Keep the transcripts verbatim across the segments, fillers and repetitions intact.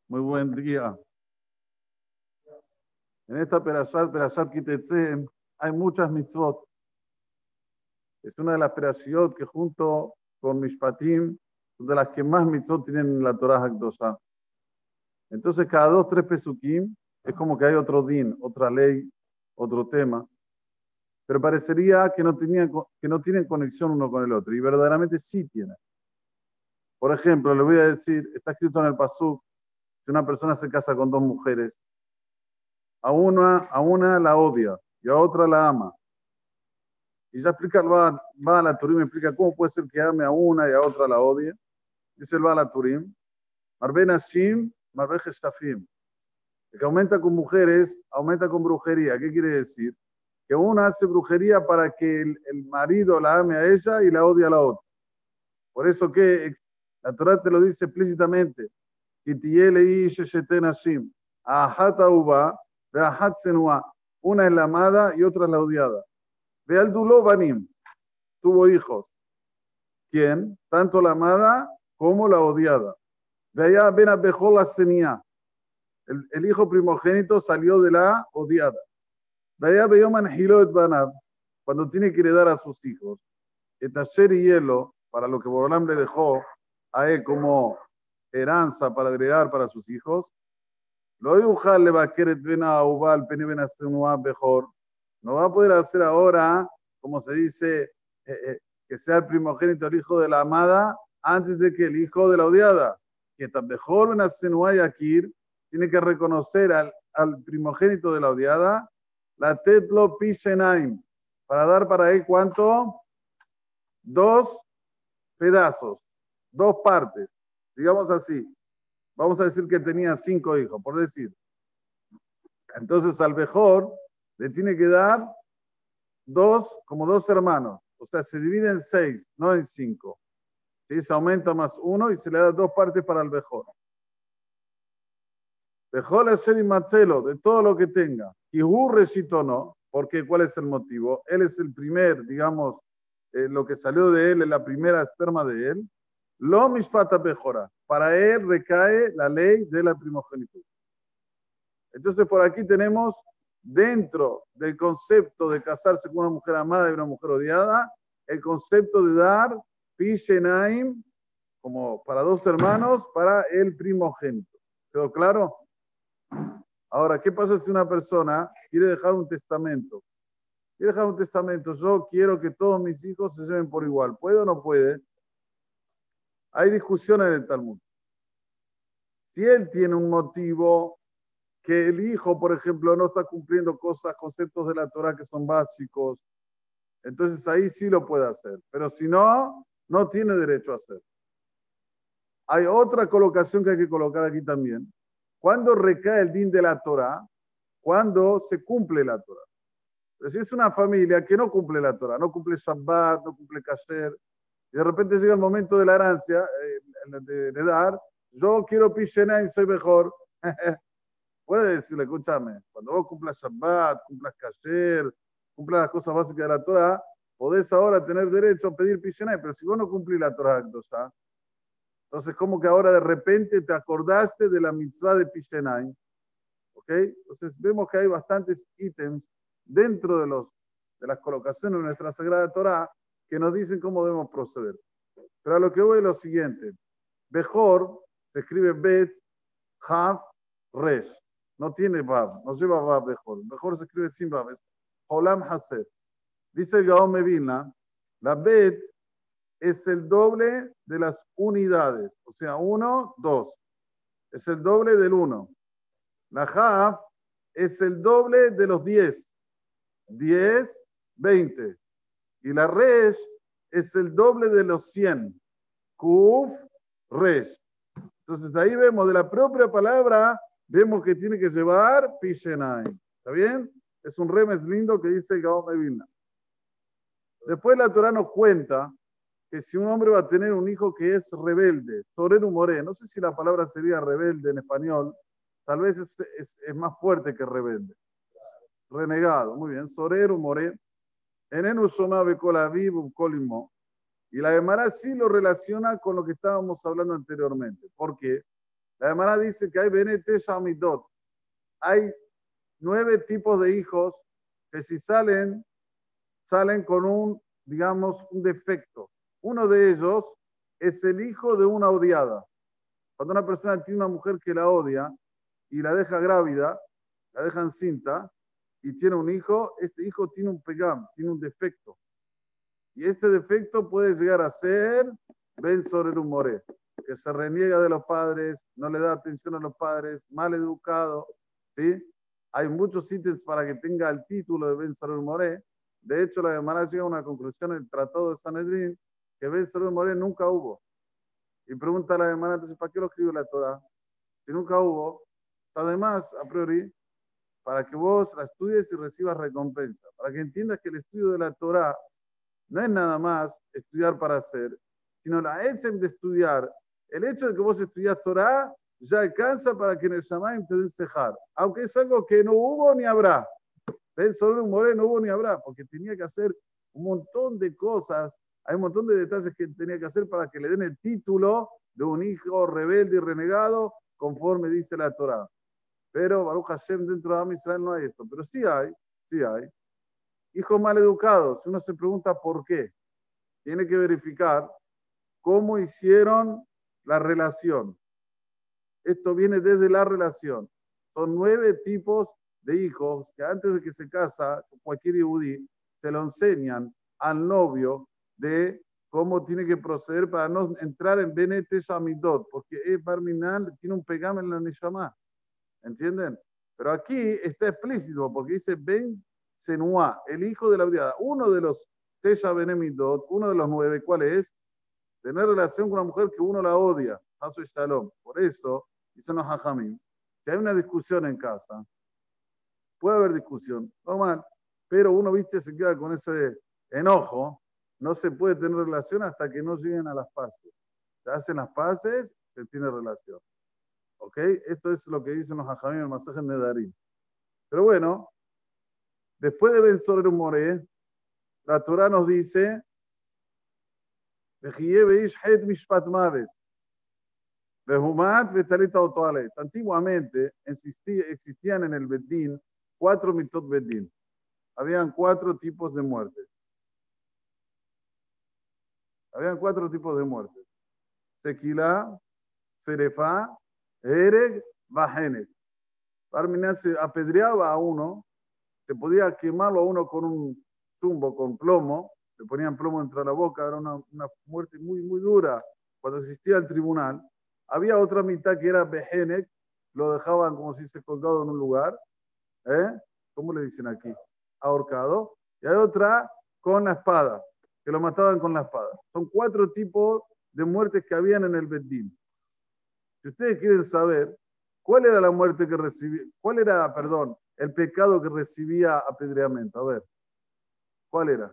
Muy buen día. En esta Perashat, Perashat Kitetse, hay muchas mitzvot. Es una de las Perashiot que junto con Mishpatim son de las que más mitzvot tienen en la Torah Hakdosha. Entonces, cada dos, tres pesukim es como que hay otro din, otra ley, otro tema. Pero parecería que no, tenían, que no tienen conexión uno con el otro. Y verdaderamente sí tienen. Por ejemplo, le voy a decir, está escrito en el Pasuk, que una persona se casa con dos mujeres. A una, a una la odia y a otra la ama. Y ya explica el Baal HaTurim, explica cómo puede ser que ame a una y a otra la odie. Dice el Baal HaTurim, Marbe Nashim, Marbe Geshtafim. El que aumenta con mujeres, aumenta con brujería. ¿Qué quiere decir? Que una hace brujería para que el, el marido la ame a ella y la odie a la otra. Por eso que la Torah te lo dice explícitamente. Una es la amada y otra es la odiada. Ve al Duló Banim, tuvo hijos. ¿Quién? Tanto la amada como la odiada. Ve allá, ven a Bejol la Senia. El, el hijo primogénito salió de la odiada. Ve allá, Beyoman Hilot Banab, cuando tiene que heredar a sus hijos. Etacher y hielo, para lo que Borolam le dejó a él como heranza para agregar para sus hijos. Lo dibujar le va a querer ven a Ubal, Peni ben a mejor. No va a poder hacer ahora, como se dice, eh, eh, que sea el primogénito el hijo de la amada antes de que el hijo de la odiada. Que tan mejor ben a Yakir tiene que reconocer al, al primogénito de la odiada, la Tetlo Pishenaim, para dar para él cuánto? Dos pedazos, dos partes, digamos así. Vamos a decir que tenía cinco hijos, por decir. Entonces al mejor le tiene que dar dos, como dos hermanos. O sea, se divide en seis, no en cinco. ¿Sí? Se aumenta más uno y se le da dos partes para el mejor. Mejor es ser Marcelo, de todo lo que tenga. Y recito no, porque ¿cuál es el motivo? Él es el primer, digamos, eh, lo que salió de él es la primera esperma de él. Lo mishpata mejora. Para él recae la ley de la primogenitura. Entonces, por aquí tenemos, dentro del concepto de casarse con una mujer amada y una mujer odiada, el concepto de dar Pishenaim, como para dos hermanos, para el primogénito. ¿Quedó claro? Ahora, ¿qué pasa si una persona quiere dejar un testamento? Quiere dejar un testamento. Yo quiero que todos mis hijos se lleven por igual. ¿Puede o no puede? Hay discusión en el Talmud. Si él tiene un motivo que el hijo, por ejemplo, no está cumpliendo cosas, conceptos de la Torah que son básicos, entonces ahí sí lo puede hacer. Pero si no, no tiene derecho a hacer. Hay otra colocación que hay que colocar aquí también. ¿Cuándo recae el din de la Torah? Cuando se cumple la Torah. Pero si es una familia que no cumple la Torah, no cumple Shabbat, no cumple Kasher, y de repente llega el momento de la herencia, eh, de, de dar, yo quiero Pishenaim, soy mejor. Puede decirle, escúchame, cuando vos cumplas Shabbat, cumplas Kasher, cumplas las cosas básicas de la Torah, podés ahora tener derecho a pedir Pishenaim, pero si vos no cumplís la Torah, entonces como que ahora de repente te acordaste de la mitzvah de Pishenaim. ¿Ok? Entonces vemos que hay bastantes ítems dentro de, los, de las colocaciones de nuestra Sagrada Torah que nos dicen cómo debemos proceder. Pero a lo que voy es lo siguiente. Bejor se escribe Bet, Hav, Resh. No tiene Vav, no lleva Vav Bejor. Bejor se escribe sin Vav, es Olam Haset. Dice el Gaón Mevilna, la Bet es el doble de las unidades. O sea, uno, dos. Es el doble del uno. La Hav es el doble de los diez. diez, veinte. Y la Resh es el doble de los cien. Kuf, Resh. Entonces ahí vemos de la propia palabra, vemos que tiene que llevar Pishenaim. ¿Está bien? Es un remes lindo que dice el Gaón de Vilna. Después la Torah nos cuenta que si un hombre va a tener un hijo que es rebelde, Soreru Moré, no sé si la palabra sería rebelde en español, tal vez es, es, es más fuerte que rebelde. Renegado, muy bien. Soreru Moré, Enenu Shomabe Kolaviv Kolimo. Y la Gemara sí lo relaciona con lo que estábamos hablando anteriormente. ¿Por qué? La Gemara dice que hay Benete Shamidot. Hay nueve tipos de hijos que si salen, salen con un, digamos, un defecto. Uno de ellos es el hijo de una odiada. Cuando una persona tiene una mujer que la odia y la deja grávida, la deja encinta y tiene un hijo, este hijo tiene un pegam, tiene un defecto. Y este defecto puede llegar a ser Ben sobre un more, que se reniega de los padres, no le da atención a los padres, mal educado, ¿sí? Hay muchos ítems para que tenga el título de Ben sobre un more. De hecho, la Gemara llega a una conclusión en el Tratado de Sanedrín que Ben sobre un more nunca hubo. Y pregunta a la Gemara, entonces, ¿para qué lo escribió la Torah? Si nunca hubo, además, a priori, para que vos la estudies y recibas recompensa, para que entiendas que el estudio de la Torah no es nada más estudiar para hacer, sino la etzem de estudiar. El hecho de que vos estudias Torah ya alcanza para que en el Shamayim te den sejar, aunque es algo que no hubo ni habrá. Ben solo un more no hubo ni habrá, porque tenía que hacer un montón de cosas, hay un montón de detalles que tenía que hacer para que le den el título de un hijo rebelde y renegado, conforme dice la Torah. Pero Baruch Hashem, dentro de Am Israel no hay esto, pero sí hay, sí hay. Hijos mal educados, si uno se pregunta por qué, tiene que verificar cómo hicieron la relación. Esto viene desde la relación. Son nueve tipos de hijos que antes de que se casa cualquier yehudí, se lo enseñan al novio de cómo tiene que proceder para no entrar en Benete Shamidot, porque es Barminal, tiene un pegame en la Neshama. ¿Entienden? Pero aquí está explícito, porque dice Ben Senua, el hijo de la odiada. Uno de los Tesha Benemidot, uno de los nueve, ¿cuál es? Tener relación con una mujer que uno la odia. Hasu Shalom. Por eso, dicen los Hajamim, si hay una discusión en casa, puede haber discusión, normal, pero uno, viste, se queda con ese enojo, no se puede tener relación hasta que no lleguen a las paces. Se hacen las paces, se tiene relación. ¿Ok? Esto es lo que dicen los Hajamim en el masaje de Darín. Pero bueno, después de Ben sobre un more, la Torah nos dice, antiguamente existía, existían en el Bedín cuatro mitot Bedín. Habían cuatro tipos de muertes. Habían cuatro tipos de muertes. Sequilá, Serefá, Ereg, Bajenet. Barminan se apedreaba a uno, se podía quemarlo a uno con un zumbo, con plomo, le ponían plomo entre la boca, era una, una muerte muy, muy dura. Cuando existía el tribunal, había otra mitad que era Behenek, lo dejaban como si se colgado en un lugar, ¿eh? ¿Cómo le dicen aquí? Ahorcado. Y hay otra con la espada, que lo mataban con la espada. Son cuatro tipos de muertes que habían en el Bedín. Si ustedes quieren saber cuál era la muerte que recibía, cuál era, perdón, el pecado que recibía apedreamiento, a ver, ¿cuál era?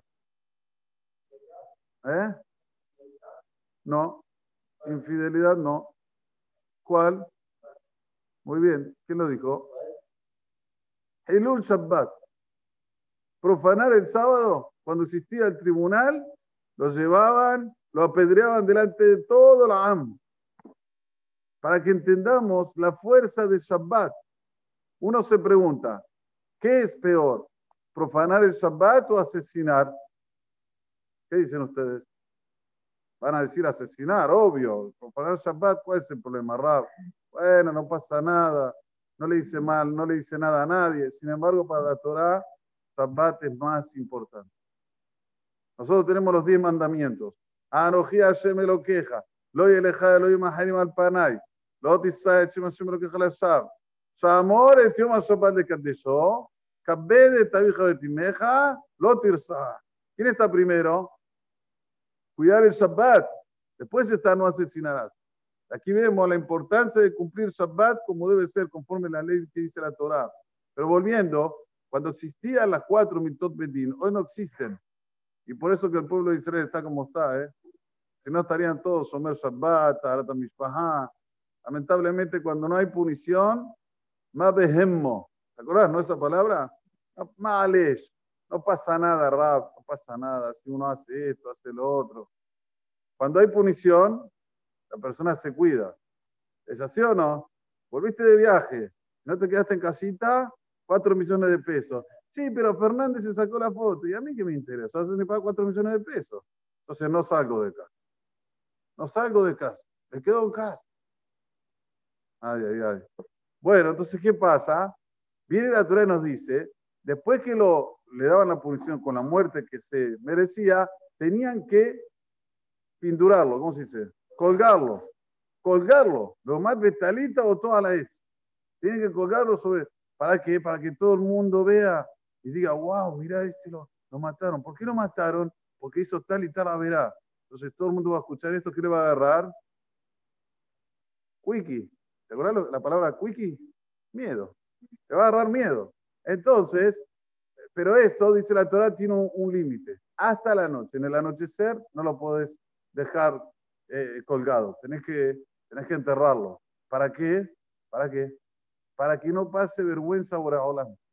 ¿Eh? No, infidelidad no. ¿Cuál? Muy bien, ¿quién lo dijo? Hilul Shabbat. Profanar el sábado, cuando existía el tribunal, lo llevaban, lo apedreaban delante de todo la A M. Para que entendamos la fuerza de Shabbat. Uno se pregunta, ¿qué es peor? ¿Profanar el Shabbat o asesinar? ¿Qué dicen ustedes? Van a decir asesinar, obvio. Profanar el Shabbat, ¿cuál es el problema, Rab? Bueno, no pasa nada. No le hice mal, no le hice nada a nadie. Sin embargo, para la Torah, Shabbat es más importante. Nosotros tenemos los diez mandamientos. Anoji Hashem me lo queja. Lo yeleja Elohim Harim al Panay. Lo tisay Hashem Hashem me lo queja la Shab. Shamor et yom Shabbat de Kadesho. Kabed et avija betimeja. Lo tirsa. ¿Quién está primero? Cuidar el Shabbat. Después está no asesinarás. Aquí vemos la importancia de cumplir Shabbat como debe ser, conforme a la ley que dice la Torah. Pero volviendo, cuando existían las cuatro mitot bedín, hoy no existen. Y por eso que el pueblo de Israel está como está, ¿eh? Que no estarían todos Shomer Shabbat, Arata Mishpahá. Lamentablemente, cuando no hay punición, ma behemmo. ¿Te acordás, no, esa palabra? Malesh. No pasa nada, Rab, no pasa nada. Si uno hace esto, hace lo otro. Cuando hay punición, la persona se cuida. ¿Es así o no? Volviste de viaje, no te quedaste en casita, cuatro millones de pesos. Sí, pero Fernández se sacó la foto. ¿Y a mí qué me interesa? Hace me paga cuatro millones de pesos. Entonces no salgo de casa. No salgo de casa. Me quedo en casa. Ay, ay, ay. Bueno, entonces, ¿qué pasa? Viene la Torá y nos dice, después que lo, le daban la punición con la muerte que se merecía, tenían que pindurarlo, ¿cómo se dice? Colgarlo. Colgarlo. Lo más betalita o toda la ex. Tienen que colgarlo sobre. ¿Para qué? Para que todo el mundo vea y diga, wow, mira, este lo, lo mataron. ¿Por qué lo mataron? Porque hizo tal y tal haberá. Entonces todo el mundo va a escuchar esto. ¿Qué le va a agarrar? Quickie. ¿Te acuerdas la palabra quickie? Miedo. Te va a agarrar miedo. Entonces, pero esto, dice la Torah, tiene un, un límite. Hasta la noche. En el anochecer no lo podés dejar eh, colgado. Tenés que, tenés que enterrarlo. ¿Para qué? ¿Para qué? Para que no pase vergüenza ahora.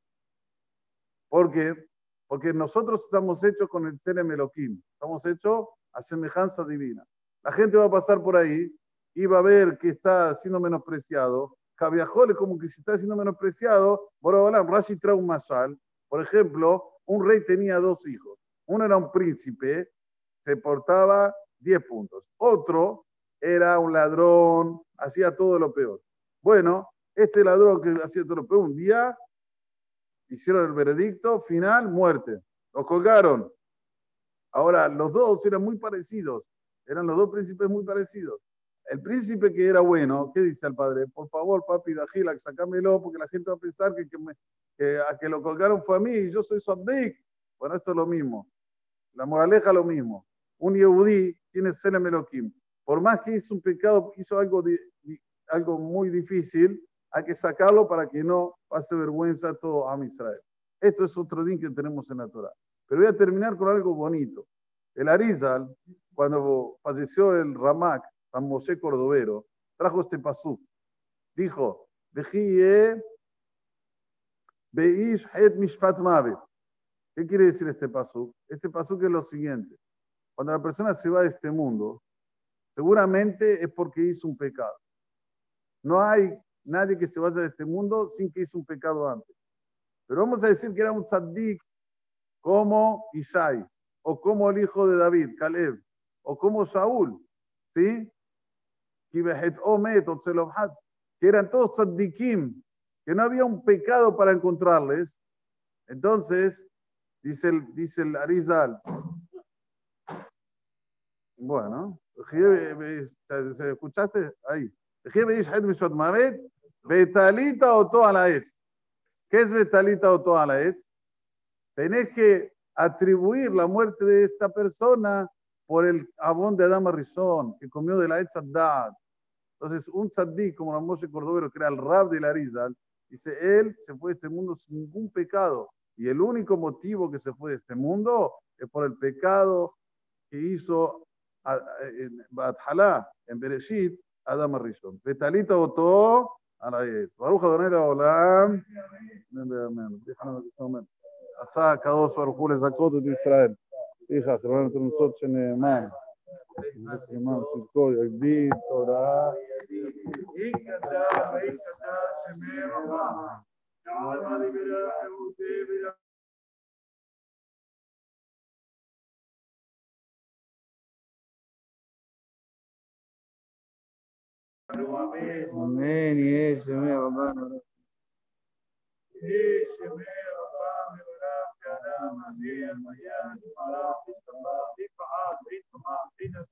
¿Por qué? Porque nosotros estamos hechos con el Tselem Elohim. Estamos hechos a semejanza divina. La gente va a pasar por ahí y va a ver que está siendo menospreciado. Cabiajol es como que si está siendo menospreciado. Borobolam, Rashi trae un mashal. Por ejemplo, un rey tenía dos hijos. Uno era un príncipe, se portaba diez puntos. Otro era un ladrón, hacía todo lo peor. Bueno, este ladrón que hacía todo lo peor, un día hicieron el veredicto final, muerte. Los colgaron. Ahora, los dos eran muy parecidos. Eran los dos príncipes muy parecidos. El príncipe que era bueno, ¿qué dice al padre? Por favor, papi, Dajila, sacámelo, porque la gente va a pensar que, que, me, que a que lo colgaron fue a mí, y yo soy Saddik. Bueno, esto es lo mismo. La moraleja es lo mismo. Un Yehudí tiene Selem Elohim. Por más que hizo un pecado, hizo algo, de, algo muy difícil, hay que sacarlo para que no pase vergüenza a todo a Israel. Esto es otro din que tenemos en la Torah. Pero voy a terminar con algo bonito. El Arizal, cuando falleció el Ramak, San Moshe Cordovero, trajo este pasú. Dijo, Vejie Beish Het Mishpat Mavet. ¿Qué quiere decir este pasú? Este pasú que es lo siguiente. Cuando la persona se va de este mundo, seguramente es porque hizo un pecado. No hay nadie que se vaya de este mundo sin que hizo un pecado antes. Pero vamos a decir que era un tzaddik como Isai, o como el hijo de David, Caleb, o como Saúl, ¿sí? Que eran todos tzaddikim, que no había un pecado para encontrarles. Entonces, dice el, dice el Arizal, bueno, ¿escuchaste? Ahí. Betalita o toda la etz. ¿Qué es Betalita o toda la etz? Tenés que atribuir la muerte de esta persona por el abón de Adama Rizón, que comió de la etz Addad. Entonces, un tzaddik como la Moshe Cordovero, que era el rab de la Arizal, dice, él se fue de este mundo sin ningún pecado. Y el único motivo que se fue de este mundo es por el pecado que hizo en Bathalá, en Bereshit, Adam Rishon. Betalita Oto, a la vez. Baruch Adonai Olam. Déjame que tome. Atza, Kadosh, Baruch Hu, Lezakot et Israel. Hija, Jerónimo, tu nosot, Sheneman. Sheneman, Tzidko, Yagdid, Torah. Ikata, Ikata, Shemerah. Yahweh, Libera, Eute, Amén. Y ese me hermano. Ese me hermano.